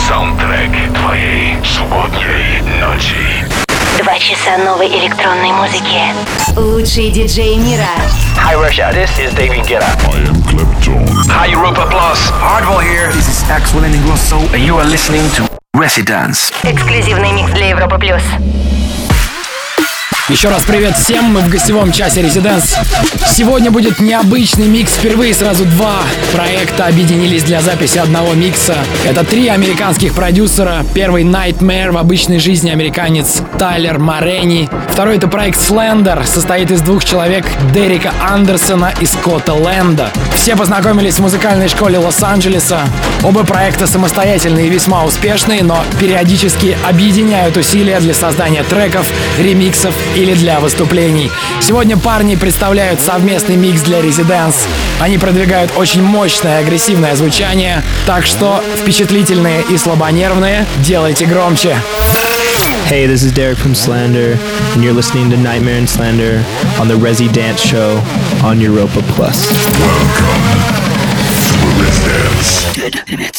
Саундтрек твоей субботней ночи. 2 часа новой электронной музыки. Лучшие диджеи мира. Hi Russia, this is David Guetta. I am Clapton. Hi Europa Plus. Hardwell here. This is Axel Ingrosso, And you are listening to Residence. Эксклюзивный микс для Европы плюс. Еще раз привет всем, мы в гостевом часе Residence. Сегодня будет необычный микс, впервые сразу 2 проекта объединились для записи одного микса. Это 3 американских продюсера. Первый Nightmare, в обычной жизни американец Тайлер Морени. Второй это проект Slender, состоит из 2 человек, Дерека Андерсона и Скотта Лэнда. Все познакомились в музыкальной школе Лос-Анджелеса. Оба проекта самостоятельные и весьма успешные, но периодически объединяют усилия для создания треков, ремиксов или для выступлений. Сегодня парни представляют совместный микс для Residence. Они продвигают очень мощное агрессивное звучание, так что впечатлительные и слабонервные делайте громче. Hey, this is Derek from Slander, and you're listening to Nightmare and Slander on the Resi Dance Show on Europa Plus. Welcome to Residence.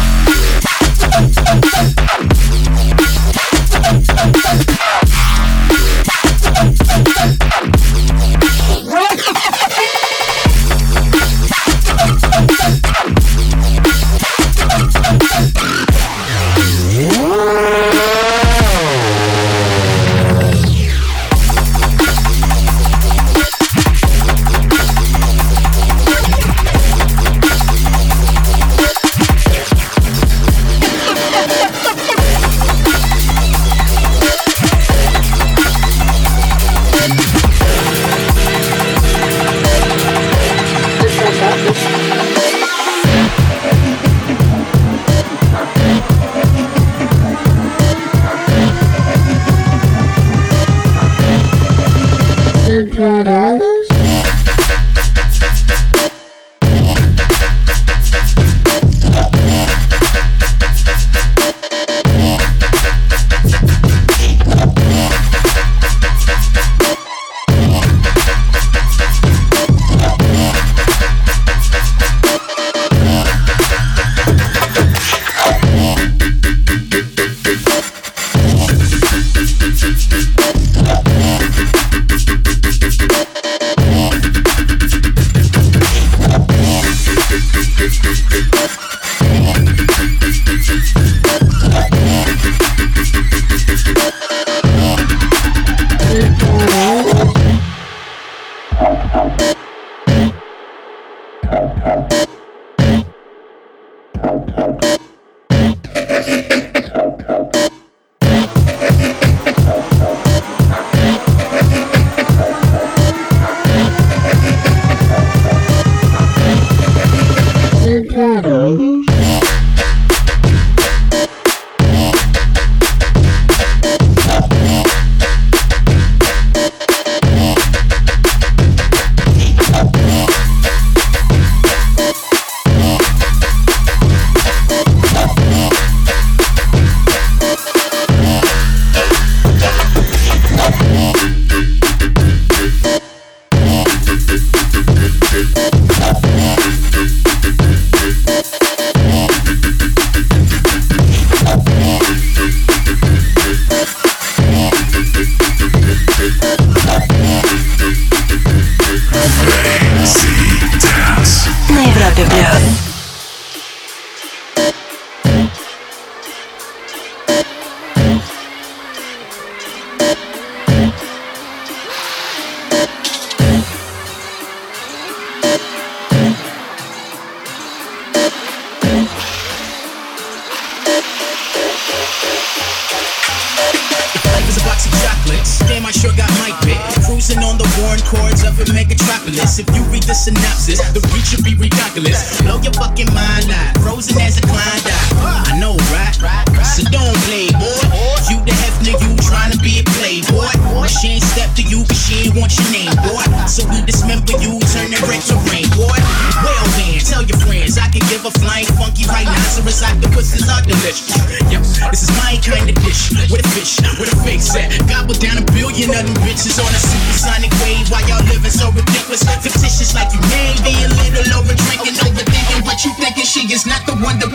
If you read the synopsis, the reach should be ridiculous. Blow your fucking mind out, frozen as a Klondike. I know, right? So don't play, boy. You the hefner, you tryna be a playboy. She ain't step to you, cause she ain't want your name, boy. So we dismember you, turn it red to rain, boy. Well then, tell your friends I can give a flying funky rhinoceros octopuses are delicious. Yep, this is my kind of dish. With a fish, with a fake set. Gobble down 1 billion of them bitches on a supersonic wave while y'all living so ridiculous. Fictitious like you may be a little over drinking, overthinking what you thinking. She is not the one to play.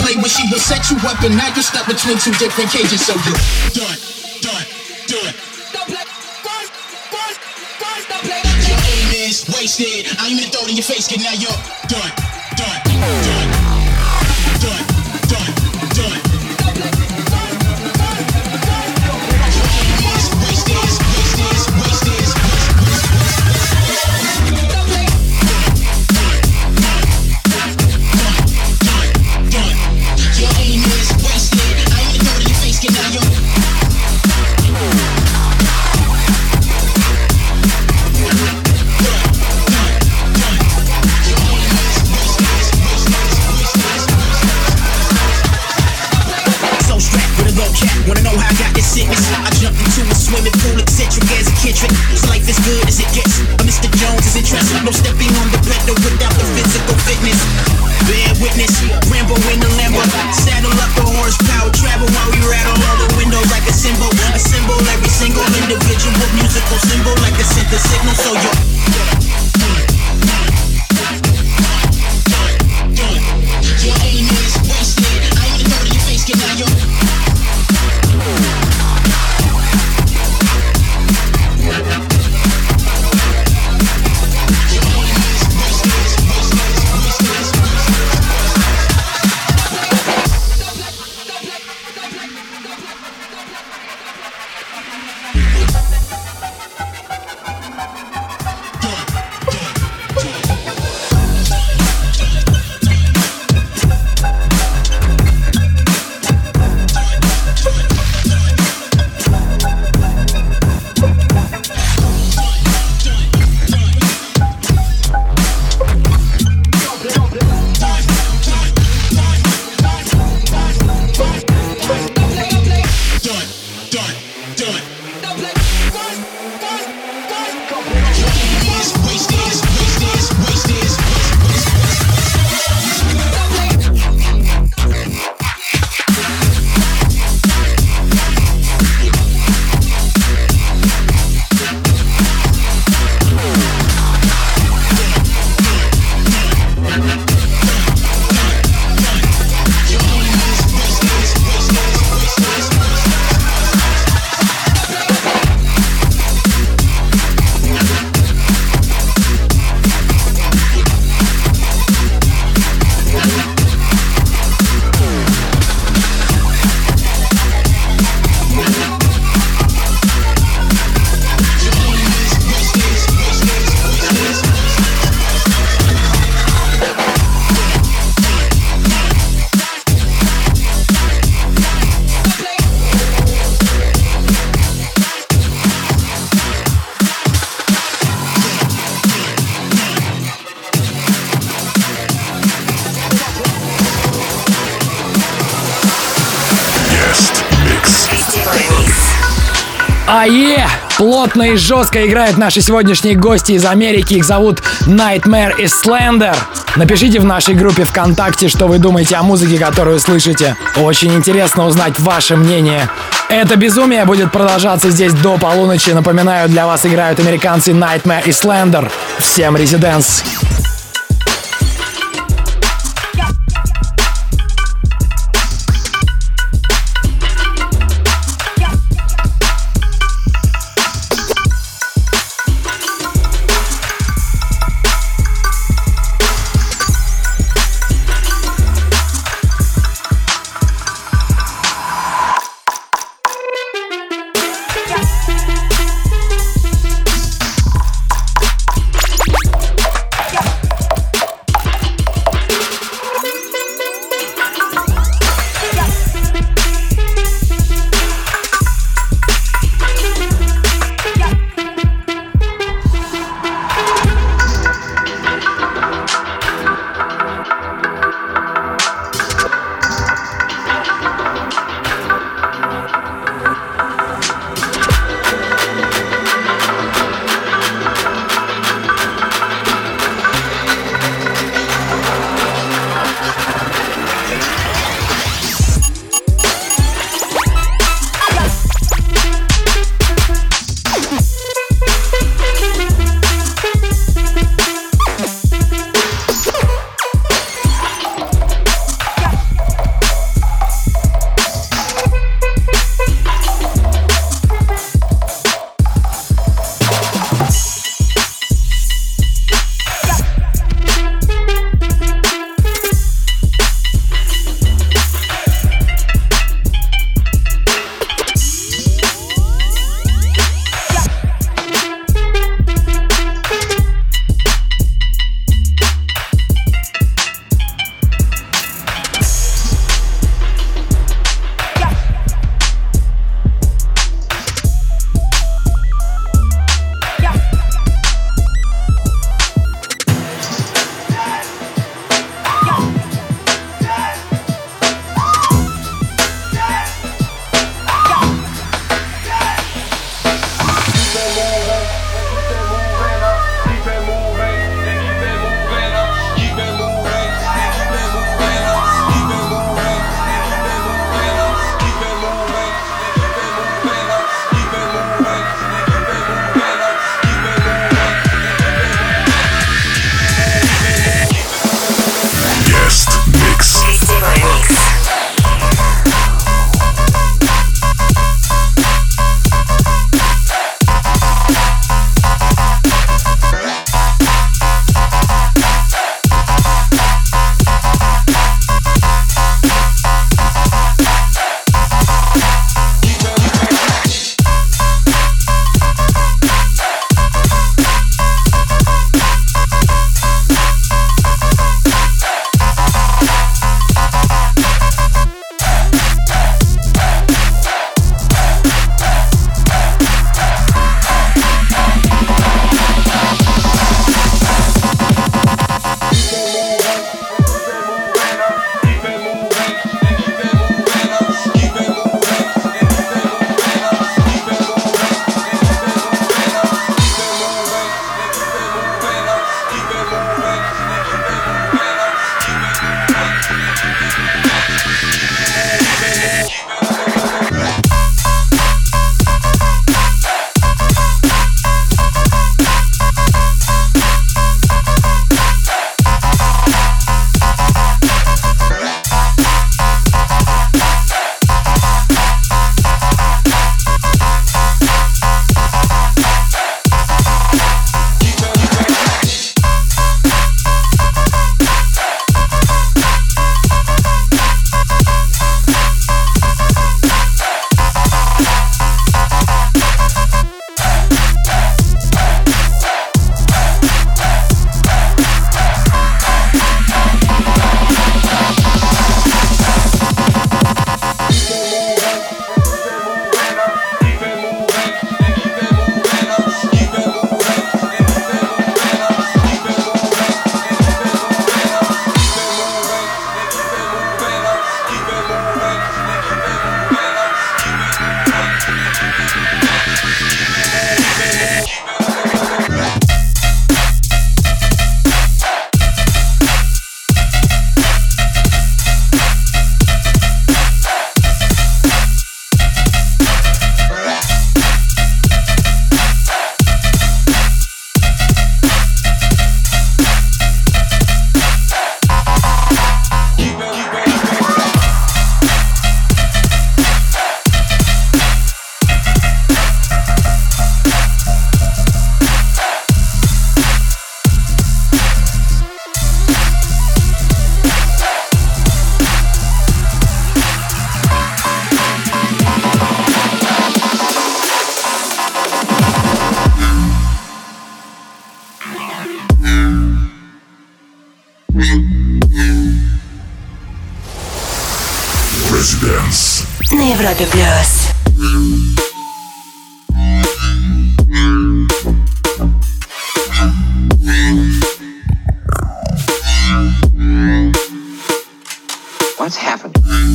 play when she will set you up, and now you're stuck between two different cages. So you done. Your aim is wasted. I ain't even throw it in your face, kid. Now you're done. Wanna know how I got this sickness? I jumped into a swimming pool, eccentric as a kid trick. So life is good as it gets. Mr. Jones is interested. No stepping on the pedal without the physical fitness. Bear witness, Rambo in the Lambo. Saddle up the horsepower, travel while we rattle all the windows like a symbol. Assemble every single individual musical symbol like a center signal. So your aim is wasted. I ain't even throw it in your face, kid. Now you're Плотно и жестко играют наши сегодняшние гости из Америки. Их зовут Nightmare и Slender. Напишите в нашей группе ВКонтакте, что вы думаете о музыке, которую слышите. Очень интересно узнать ваше мнение. Это безумие будет продолжаться здесь до полуночи. Напоминаю, для вас играют американцы Nightmare и Slender. Всем резиденс! Residence. На Европе плюс. What's happened?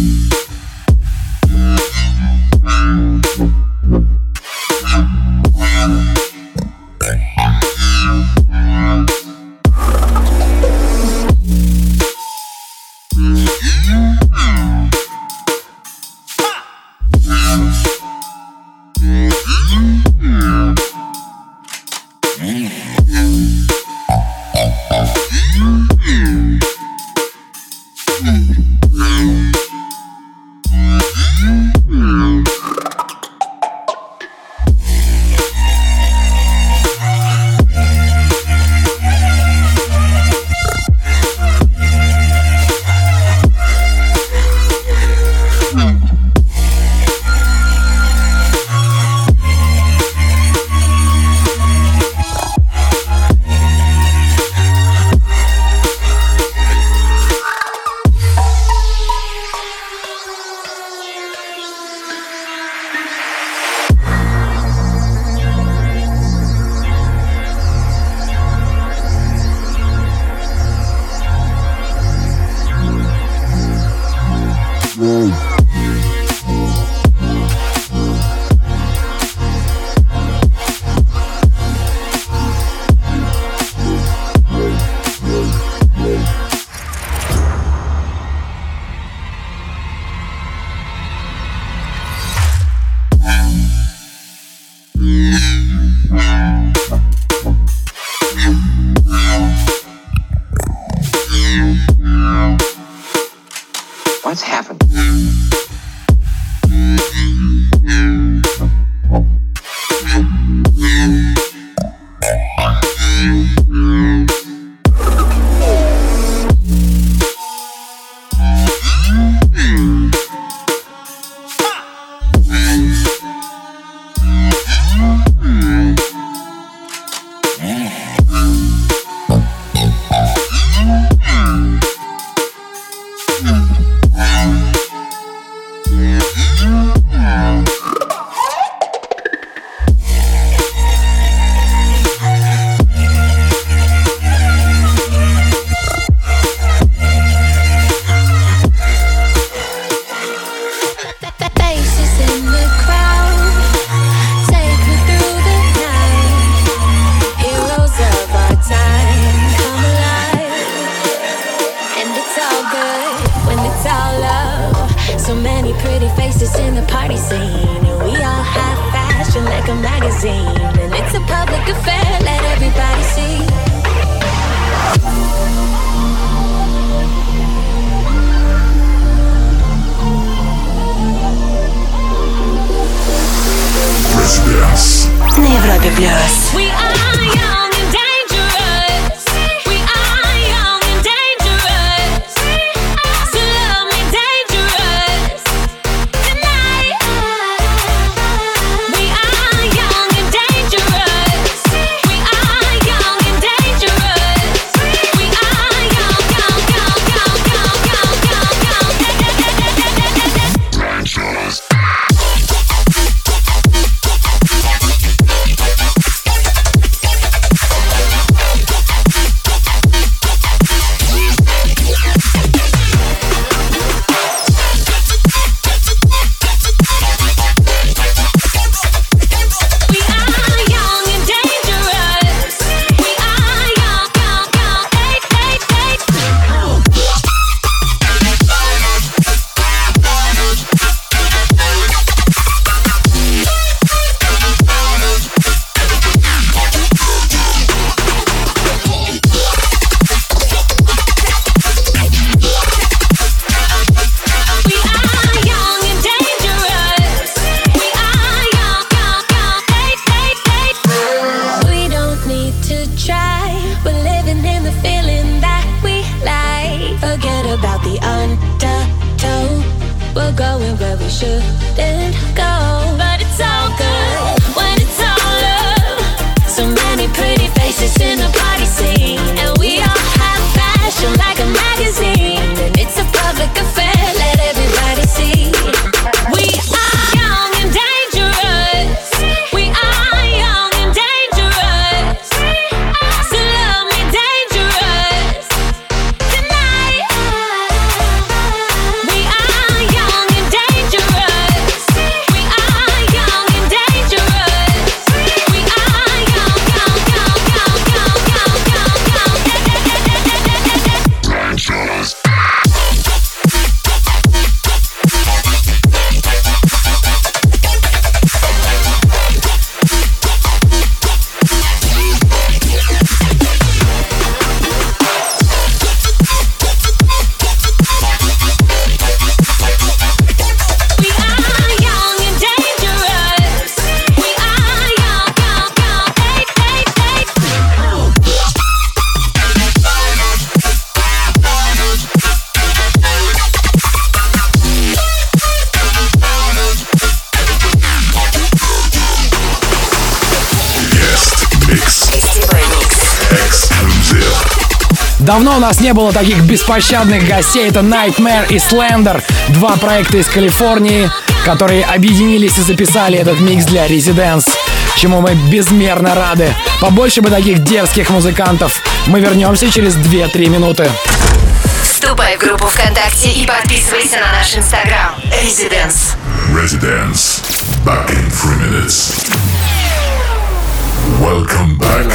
What's happened? На Европе плюс. shouldn't go, but it's all good when it's all love. So many pretty faces in the party scene, and we all have fashion like a magazine. Давно у нас не было таких беспощадных гостей. Это Nightmare и Slender, два проекта из Калифорнии, которые объединились и записали этот микс для Residence, чему мы безмерно рады. Побольше бы таких дерзких музыкантов. Мы вернемся через 2-3 минуты. Вступай в группу ВКонтакте и подписывайся на наш Инстаграм. Residence. Residence. Back in 3 minutes. Welcome back.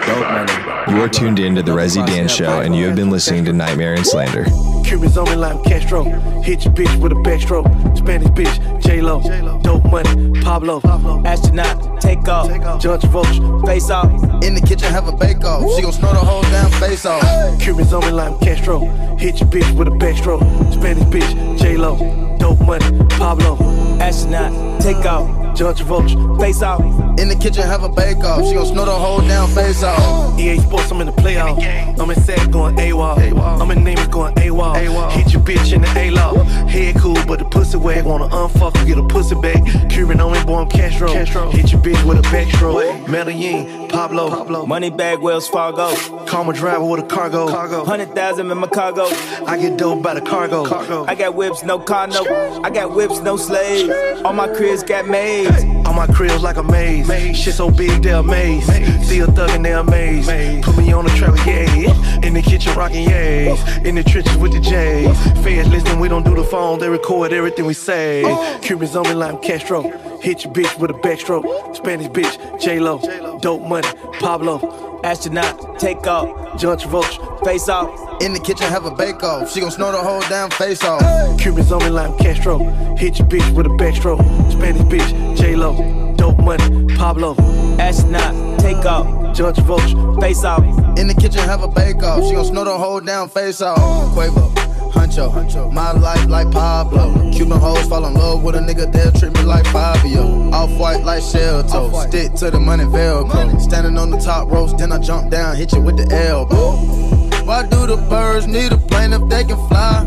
You are tuned in to the Resi Dance Show, and you have been listening to Nightmare and Slander. Cubans on me like Castro. Hit your bitch with a backstroke. Spanish bitch, J-Lo. Dope money, Pablo. Astronaut, take off. John Travolta, face off. In the kitchen, have a bake-off. She gon' snort the whole damn face off. Cubans on me like Castro. Hit your bitch with a backstroke. Spanish bitch, J-Lo. Dope money, Pablo. Astronaut, take off. John Travolta, face off. In the kitchen, have a bake-off. She gon' snort the whole damn face off. EA Sports, I'm in the playoff. I'm in SAC going AWOL. I'm in Neighbors going AWOL. Hit your bitch in the A-Law. Head cool, but the pussy wag. Wanna unfuck, get a pussy back. Cuban on me, boy, I'm Castro. Hit your bitch with a backstroke. Medellin, Pablo. Money bag, Wells Fargo. Call my driver with a cargo. 100,000 in my cargo. I get dope by the cargo. I got whips, no car, no. I got whips, no slaves. All my cribs got maids. All my cribs like a maze. Shit so big, they're amazed. Still thuggin', they're amazed. Put me on the trailer, yeah. In the kitchen, rockin' yays. In the trenches with the J's. Feds listen, we don't do the phone. They record everything we say. Cubans on me like Castro. Hit your bitch with a backstroke. Spanish bitch, J-Lo. Dope money, Pablo. Astronaut, take off. John Travolta, face off. In the kitchen, have a bake-off. She gon' snort the whole damn face off. Cubans on me like Castro. Hit your bitch with a backstroke. Spanish bitch, J-Lo. Dope money, Pablo. Astronaut, take off. John Travolta, face off. In the kitchen, have a bake-off. She gon' snort the whole damn face off. Quavo, Huncho, my life like Pablo. Cuban hoes fall in love with a nigga, they'll treat me like Fabio. Off-white like shell toe, stick to the money Velcro. Standing on the top ropes, then I jump down, hit you with the elbow. Why do the birds need a plane if they can fly?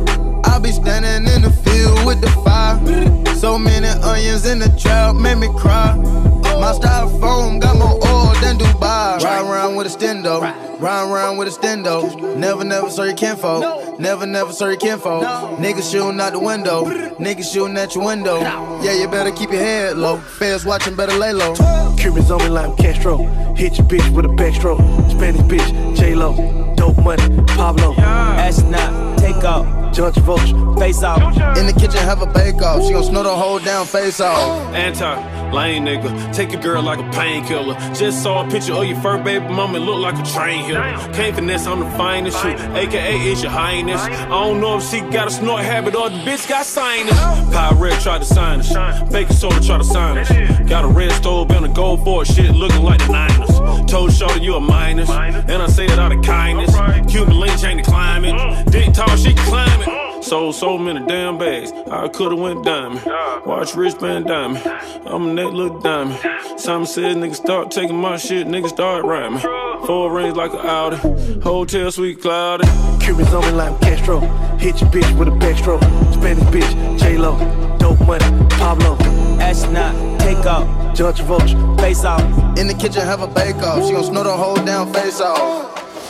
I be standing in the field with the fire. So many onions in the trap, made me cry. My styrofoam got more oil than Dubai. Ride around with a stendo, ride around with a stendo. Never, so you can't fold. Never, so you can't fold. Niggas shooting out the window, niggas shooting at your window. Yeah, you better keep your head low. Feds watching, better lay low. Cubans on me like Castro. Hit your bitch with a backstroke. Spanish bitch, J-Lo. Dope money, Pablo. Astronaut, take off. John Travolta, face off. In the kitchen, have a bake-off. She gon' snort the whole damn face off. Anti-lame nigga, take your girl like a painkiller. Just saw a picture of your fur baby mama, it look like a train hitter. Can't finesse, I'm the finest shit, aka it's your highness. I don't know if she got a snort habit or the bitch got sinus. Pirate tried to sign us, baking soda tried to sign us. Got a red stove and a gold for shit looking like the Niners. Told Shorty you a minus, and I say it out of kindness. Cuban link change the climate, dick tall she climbing. Sold so many damn bags, I could've went diamond. Watch wristband diamond, I'm a neck look diamond. Simon said niggas start taking my shit, niggas start rhyming. 4 rings like an Audi, hotel suite cloudy. Cubans on me like Castro. Hit your bitch with a backstroke. Spanish bitch, J-Lo. Dope money, Pablo. Astronaut, take off. John Travolta, face off. In the kitchen, have a bake-off. She gon' snort the whole damn face off.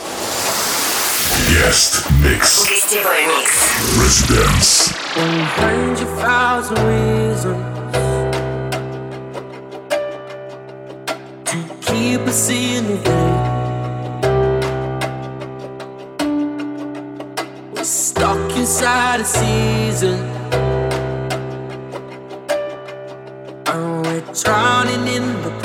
Guest mix. Гостевой микс. Residence. Find you 1,000 reasons to keep us in the way. We're stuck inside a season, and we're drowning in the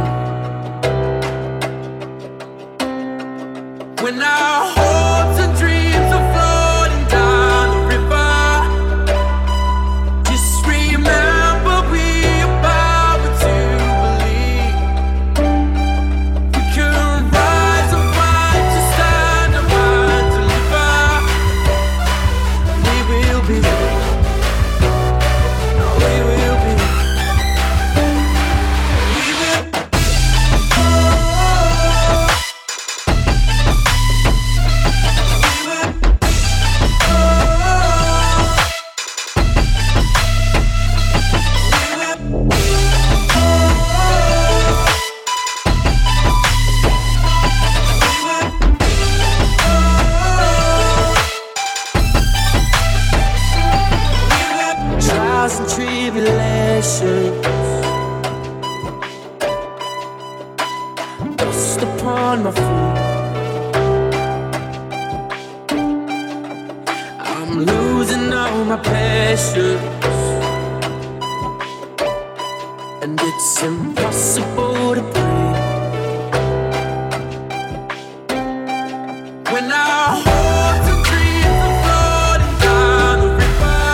pain. When our hopes and dreams are floating down the river, just remember we are power to believe. We can rise and fight to stand and fight to deliver. We will be, we will be, we will. I'm losing all my passions, and it's impossible to breathe when our hopes and dreams are floating down the river.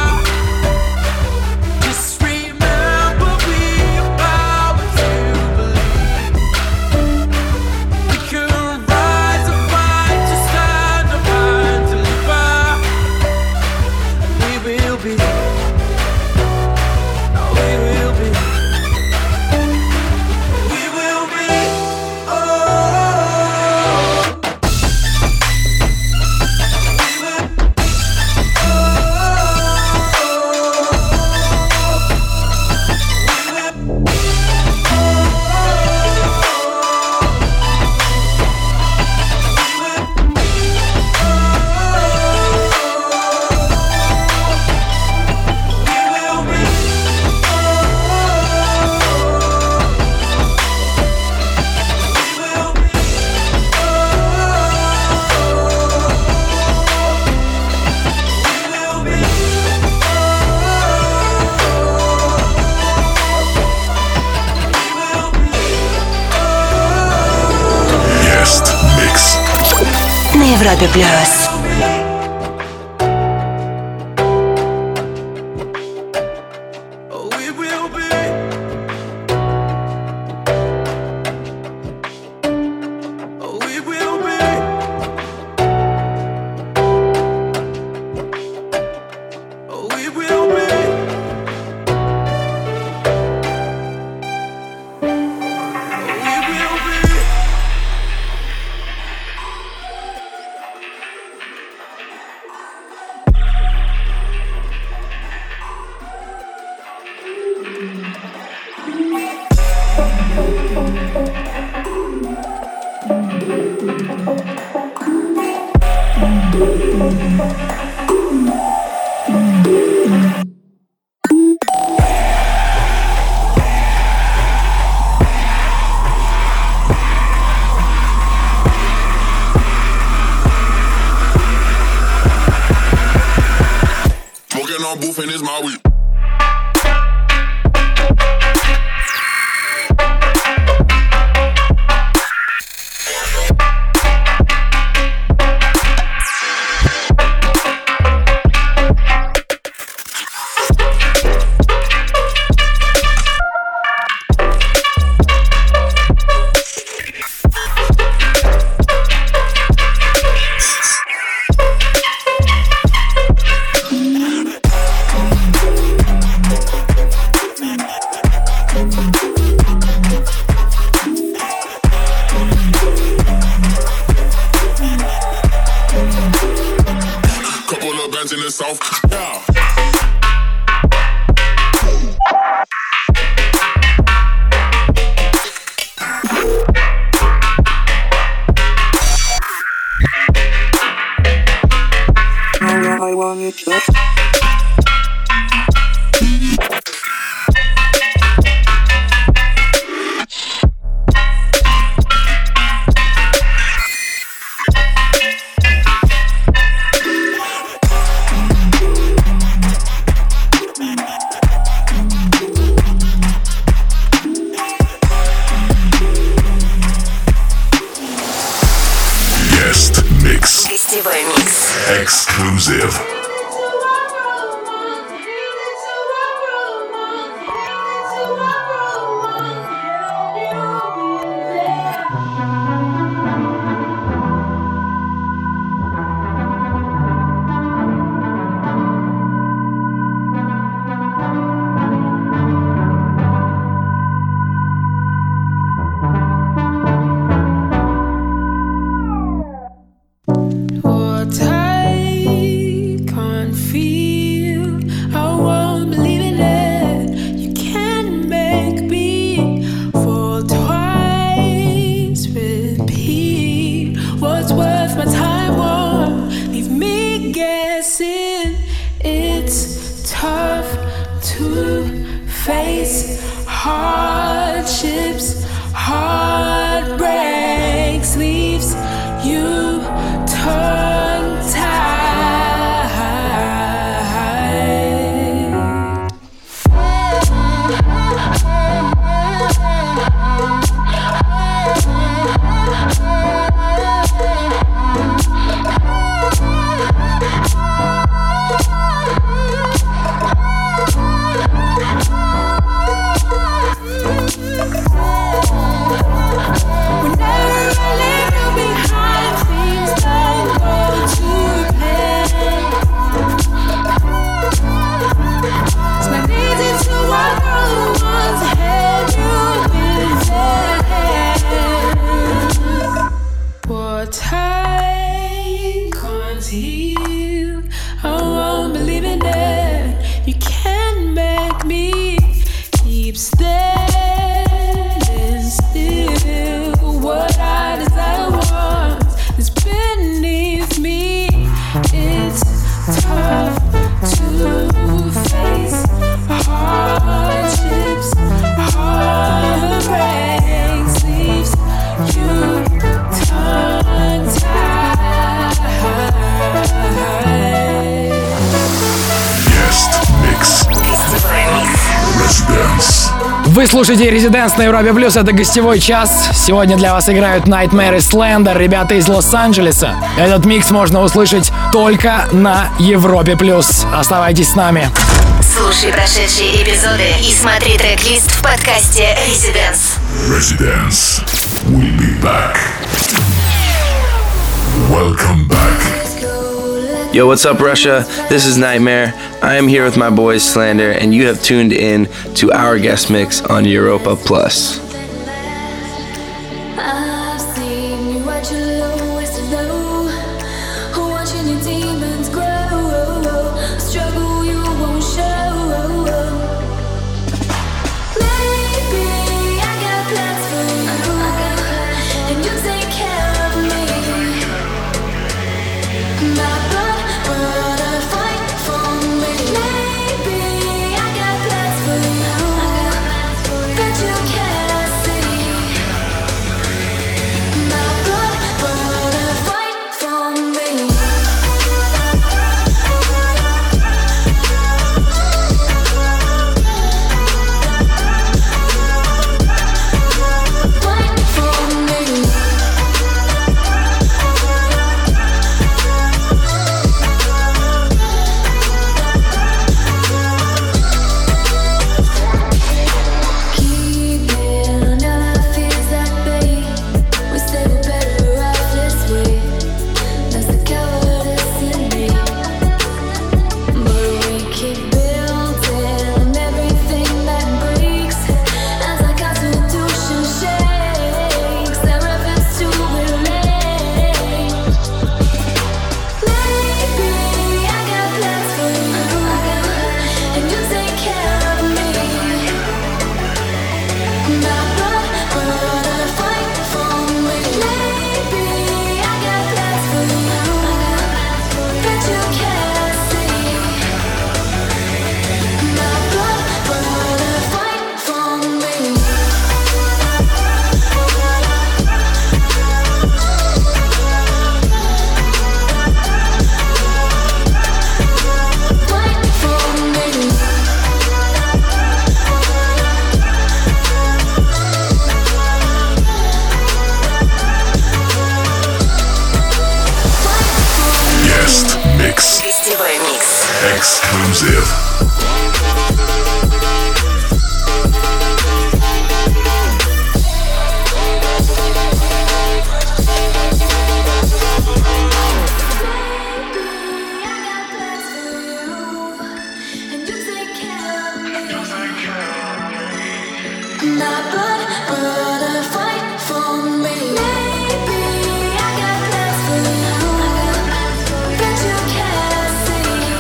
Just remember we're about to believe we can rise and fight to stand up and deliver. We will be. На Европе Плюс. Boofing is my week. In the south, yeah. I want you to. Гостевой микс. Exclusive. Hardships, heartbreaks, leaves you tongue-tied. Residence. Вы слушаете Residence на Европе Плюс, это гостевой час. Сегодня для вас играют Nightmare и Slender, ребята из Лос-Анджелеса. Этот микс можно услышать только на Европе Плюс. Оставайтесь с нами. Слушай прошедшие эпизоды и смотри трек-лист в подкасте Residence. Residence. We'll be back. Welcome back. Yo, what's up, Russia? This is Nightmare. I am here with my boys Slander, and you have tuned in to our guest mix on Europa Plus. I've seen you at your lowest low, watching your demons grow, struggle you won't show. Maybe I got plans for you, and you take care of me. My brother fight for me. Maybe I got plans for you that you can't see. My brother fight for me. Fight for me. Keeping all our fears at bay. We say we're better off this way. That's the cowardice in me. But we keep building everything that breaks. As our constitution shakes, our efforts to relate. Maybe I got plans for you, and you take care of me. My brother fight for me. Maybe I got plans for you that you can't see. My brother fight for me. Fight for me. Guest mix. Гостевой микс. Exclusive. And you take care of me. My brother fight for me. Maybe I got plans for you that you can't see.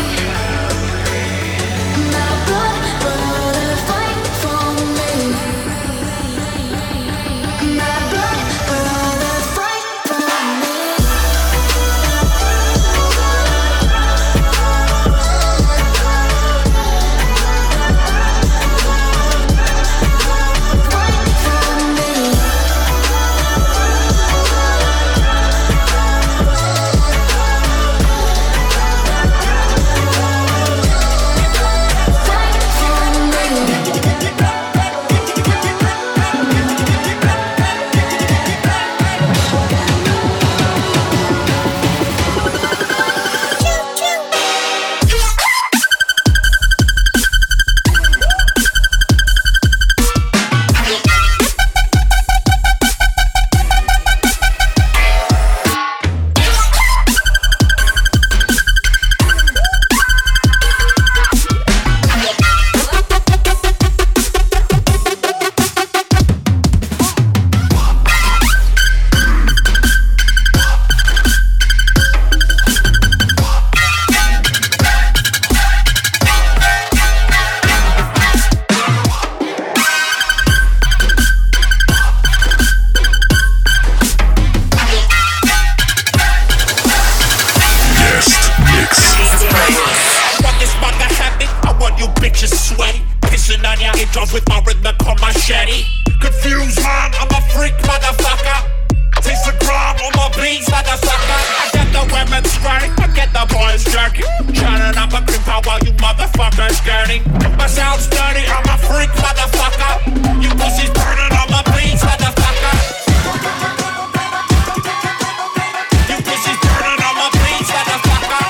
My brother fight for me. My brother fight for me. intros with my rhythmical machete. Confused mind, I'm a freak, motherfucker. Taste the grime on my beats like a sucker. I get the women straight, I get the boys jerky. Turning up a cream power while you motherfuckers gurning. My sound's dirty, I'm a freak, motherfucker. You pussies burning on my beats, motherfucker. You pussies burning on my beats, motherfucker.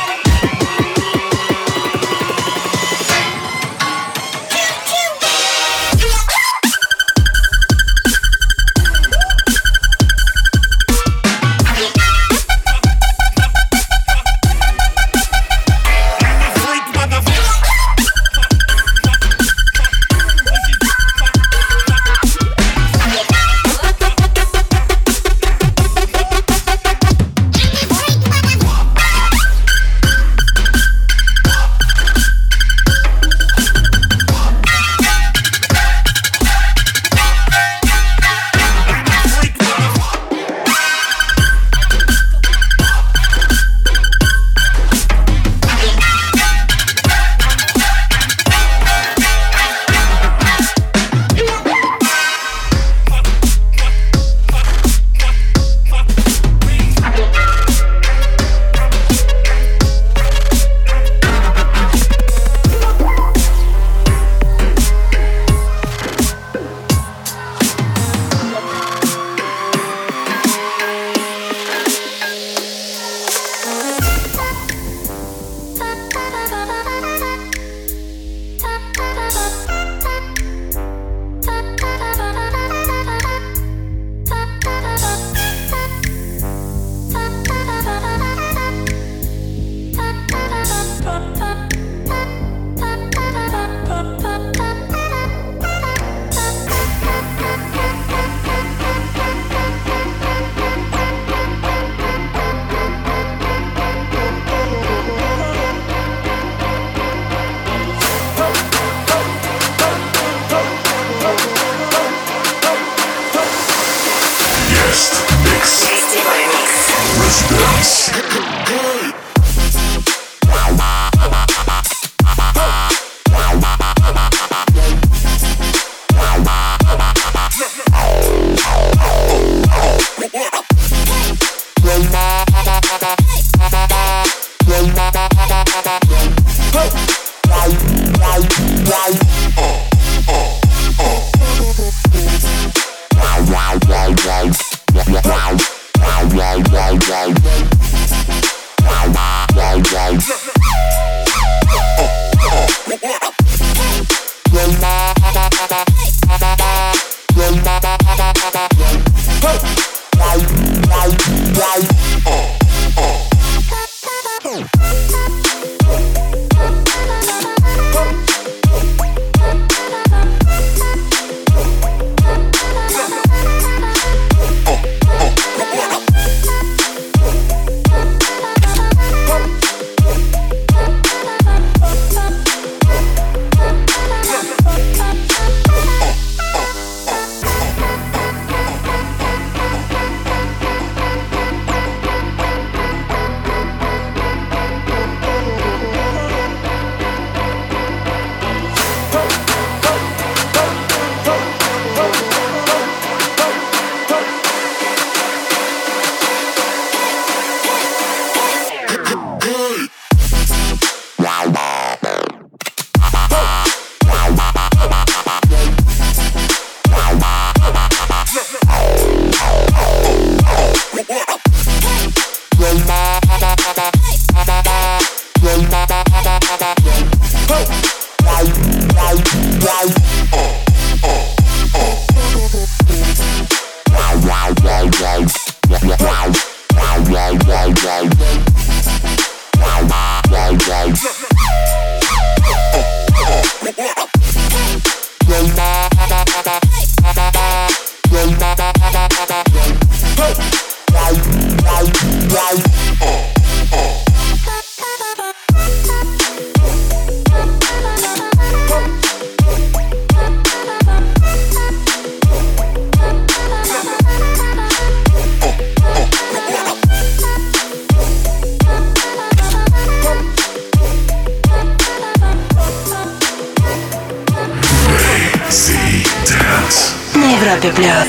На Европе Плюс.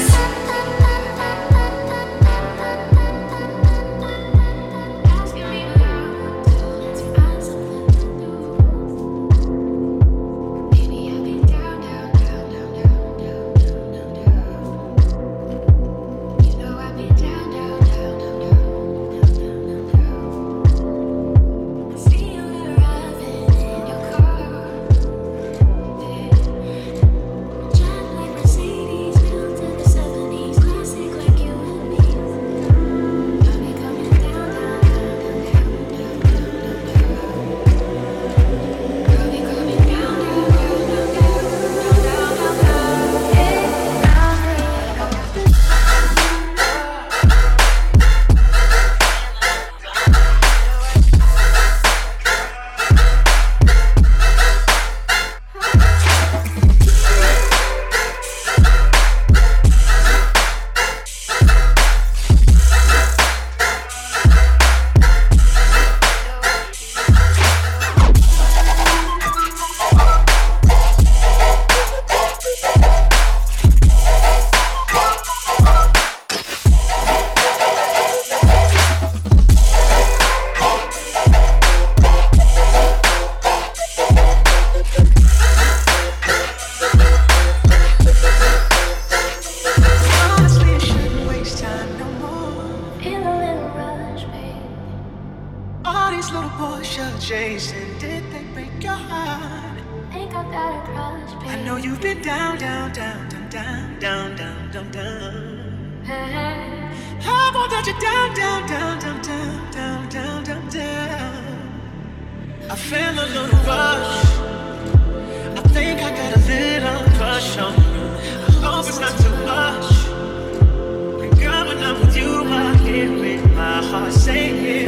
I know you've been down, down, down, down, down, down, down, down, down. I won't let you down, down, down, down, down, down, down, down, down. I feel a little rush. I think I got a little crush on you. I hope it's not too much. And girl, when I'm with you, I hear it, my heart singing.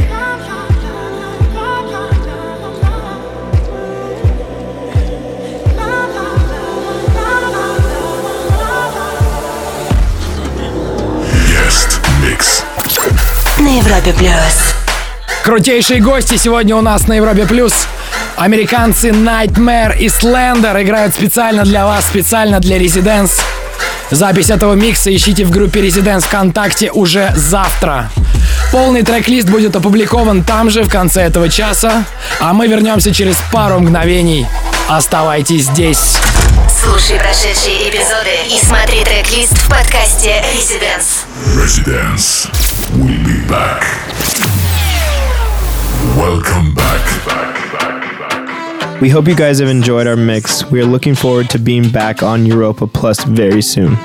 На Европе Плюс. Крутейшие гости сегодня у нас на Европе Плюс. Американцы Nightmare и Slender играют специально для вас, специально для Residence. Запись этого микса ищите в группе Residence ВКонтакте уже завтра. Полный трек-лист будет опубликован там же в конце этого часа. А мы вернемся через пару мгновений. Оставайтесь здесь. Слушай прошедшие эпизоды и смотри трек-лист в подкасте Residence. Residence. We'll be back. Welcome back. We hope you guys have enjoyed our mix. We are looking forward to being back on Europa Plus very soon.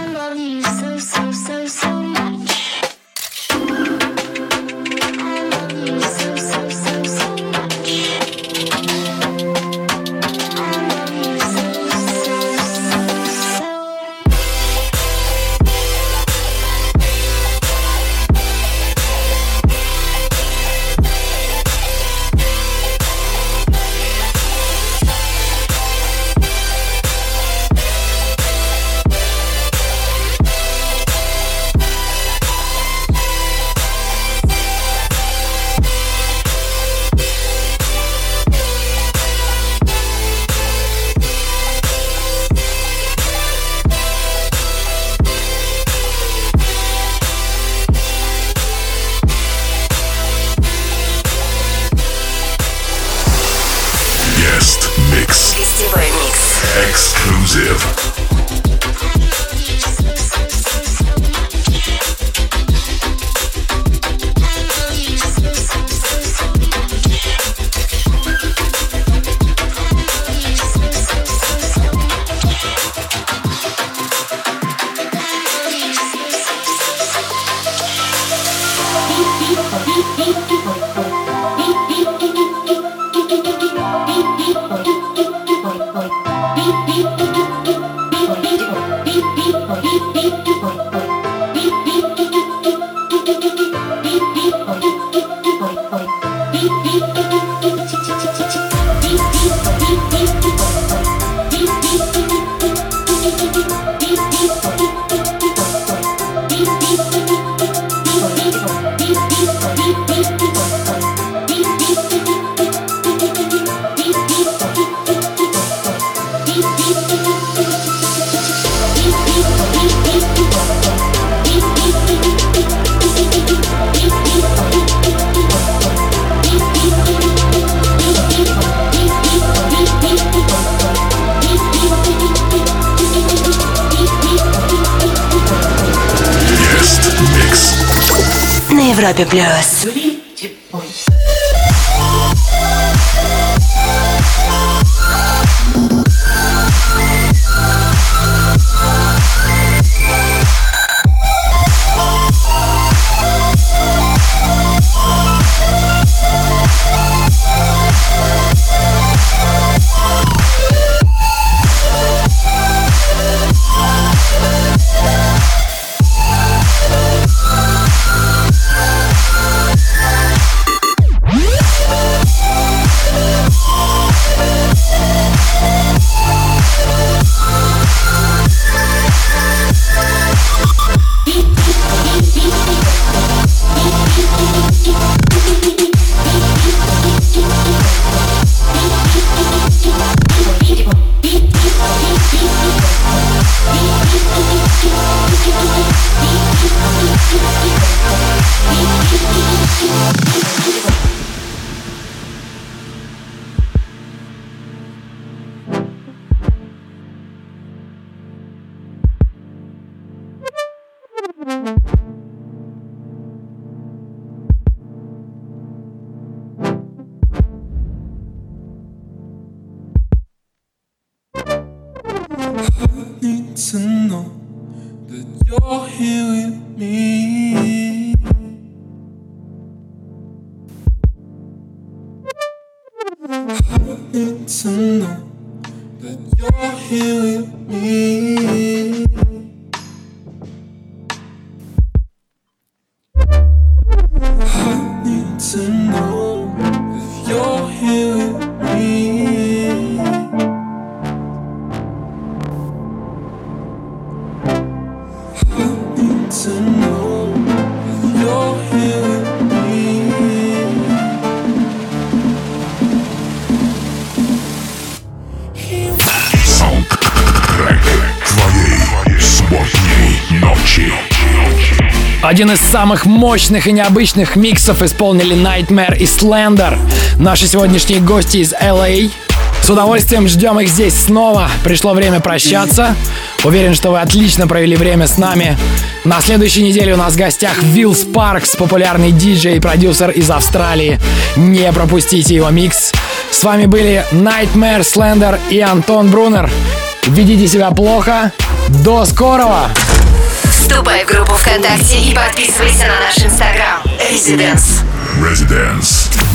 Европе Плюс. Need to know that you're here with me. Need to know that you're here with me. I need to know if you're here with me. I need to know if you're here with me. Саундтрек твоей субботней ночи. Один из самых мощных и необычных миксов исполнили Nightmare и Slender, наши сегодняшние гости из LA. С удовольствием ждем их здесь снова. Пришло время прощаться. Уверен, что вы отлично провели время с нами. На следующей неделе у нас в гостях Will Sparks, популярный диджей и продюсер из Австралии. Не пропустите его микс. С вами были Nightmare, Slender и Антон Брунер. Ведите себя плохо. До скорого! Вступай в группу ВКонтакте и подписывайся на наш Инстаграм. Residence.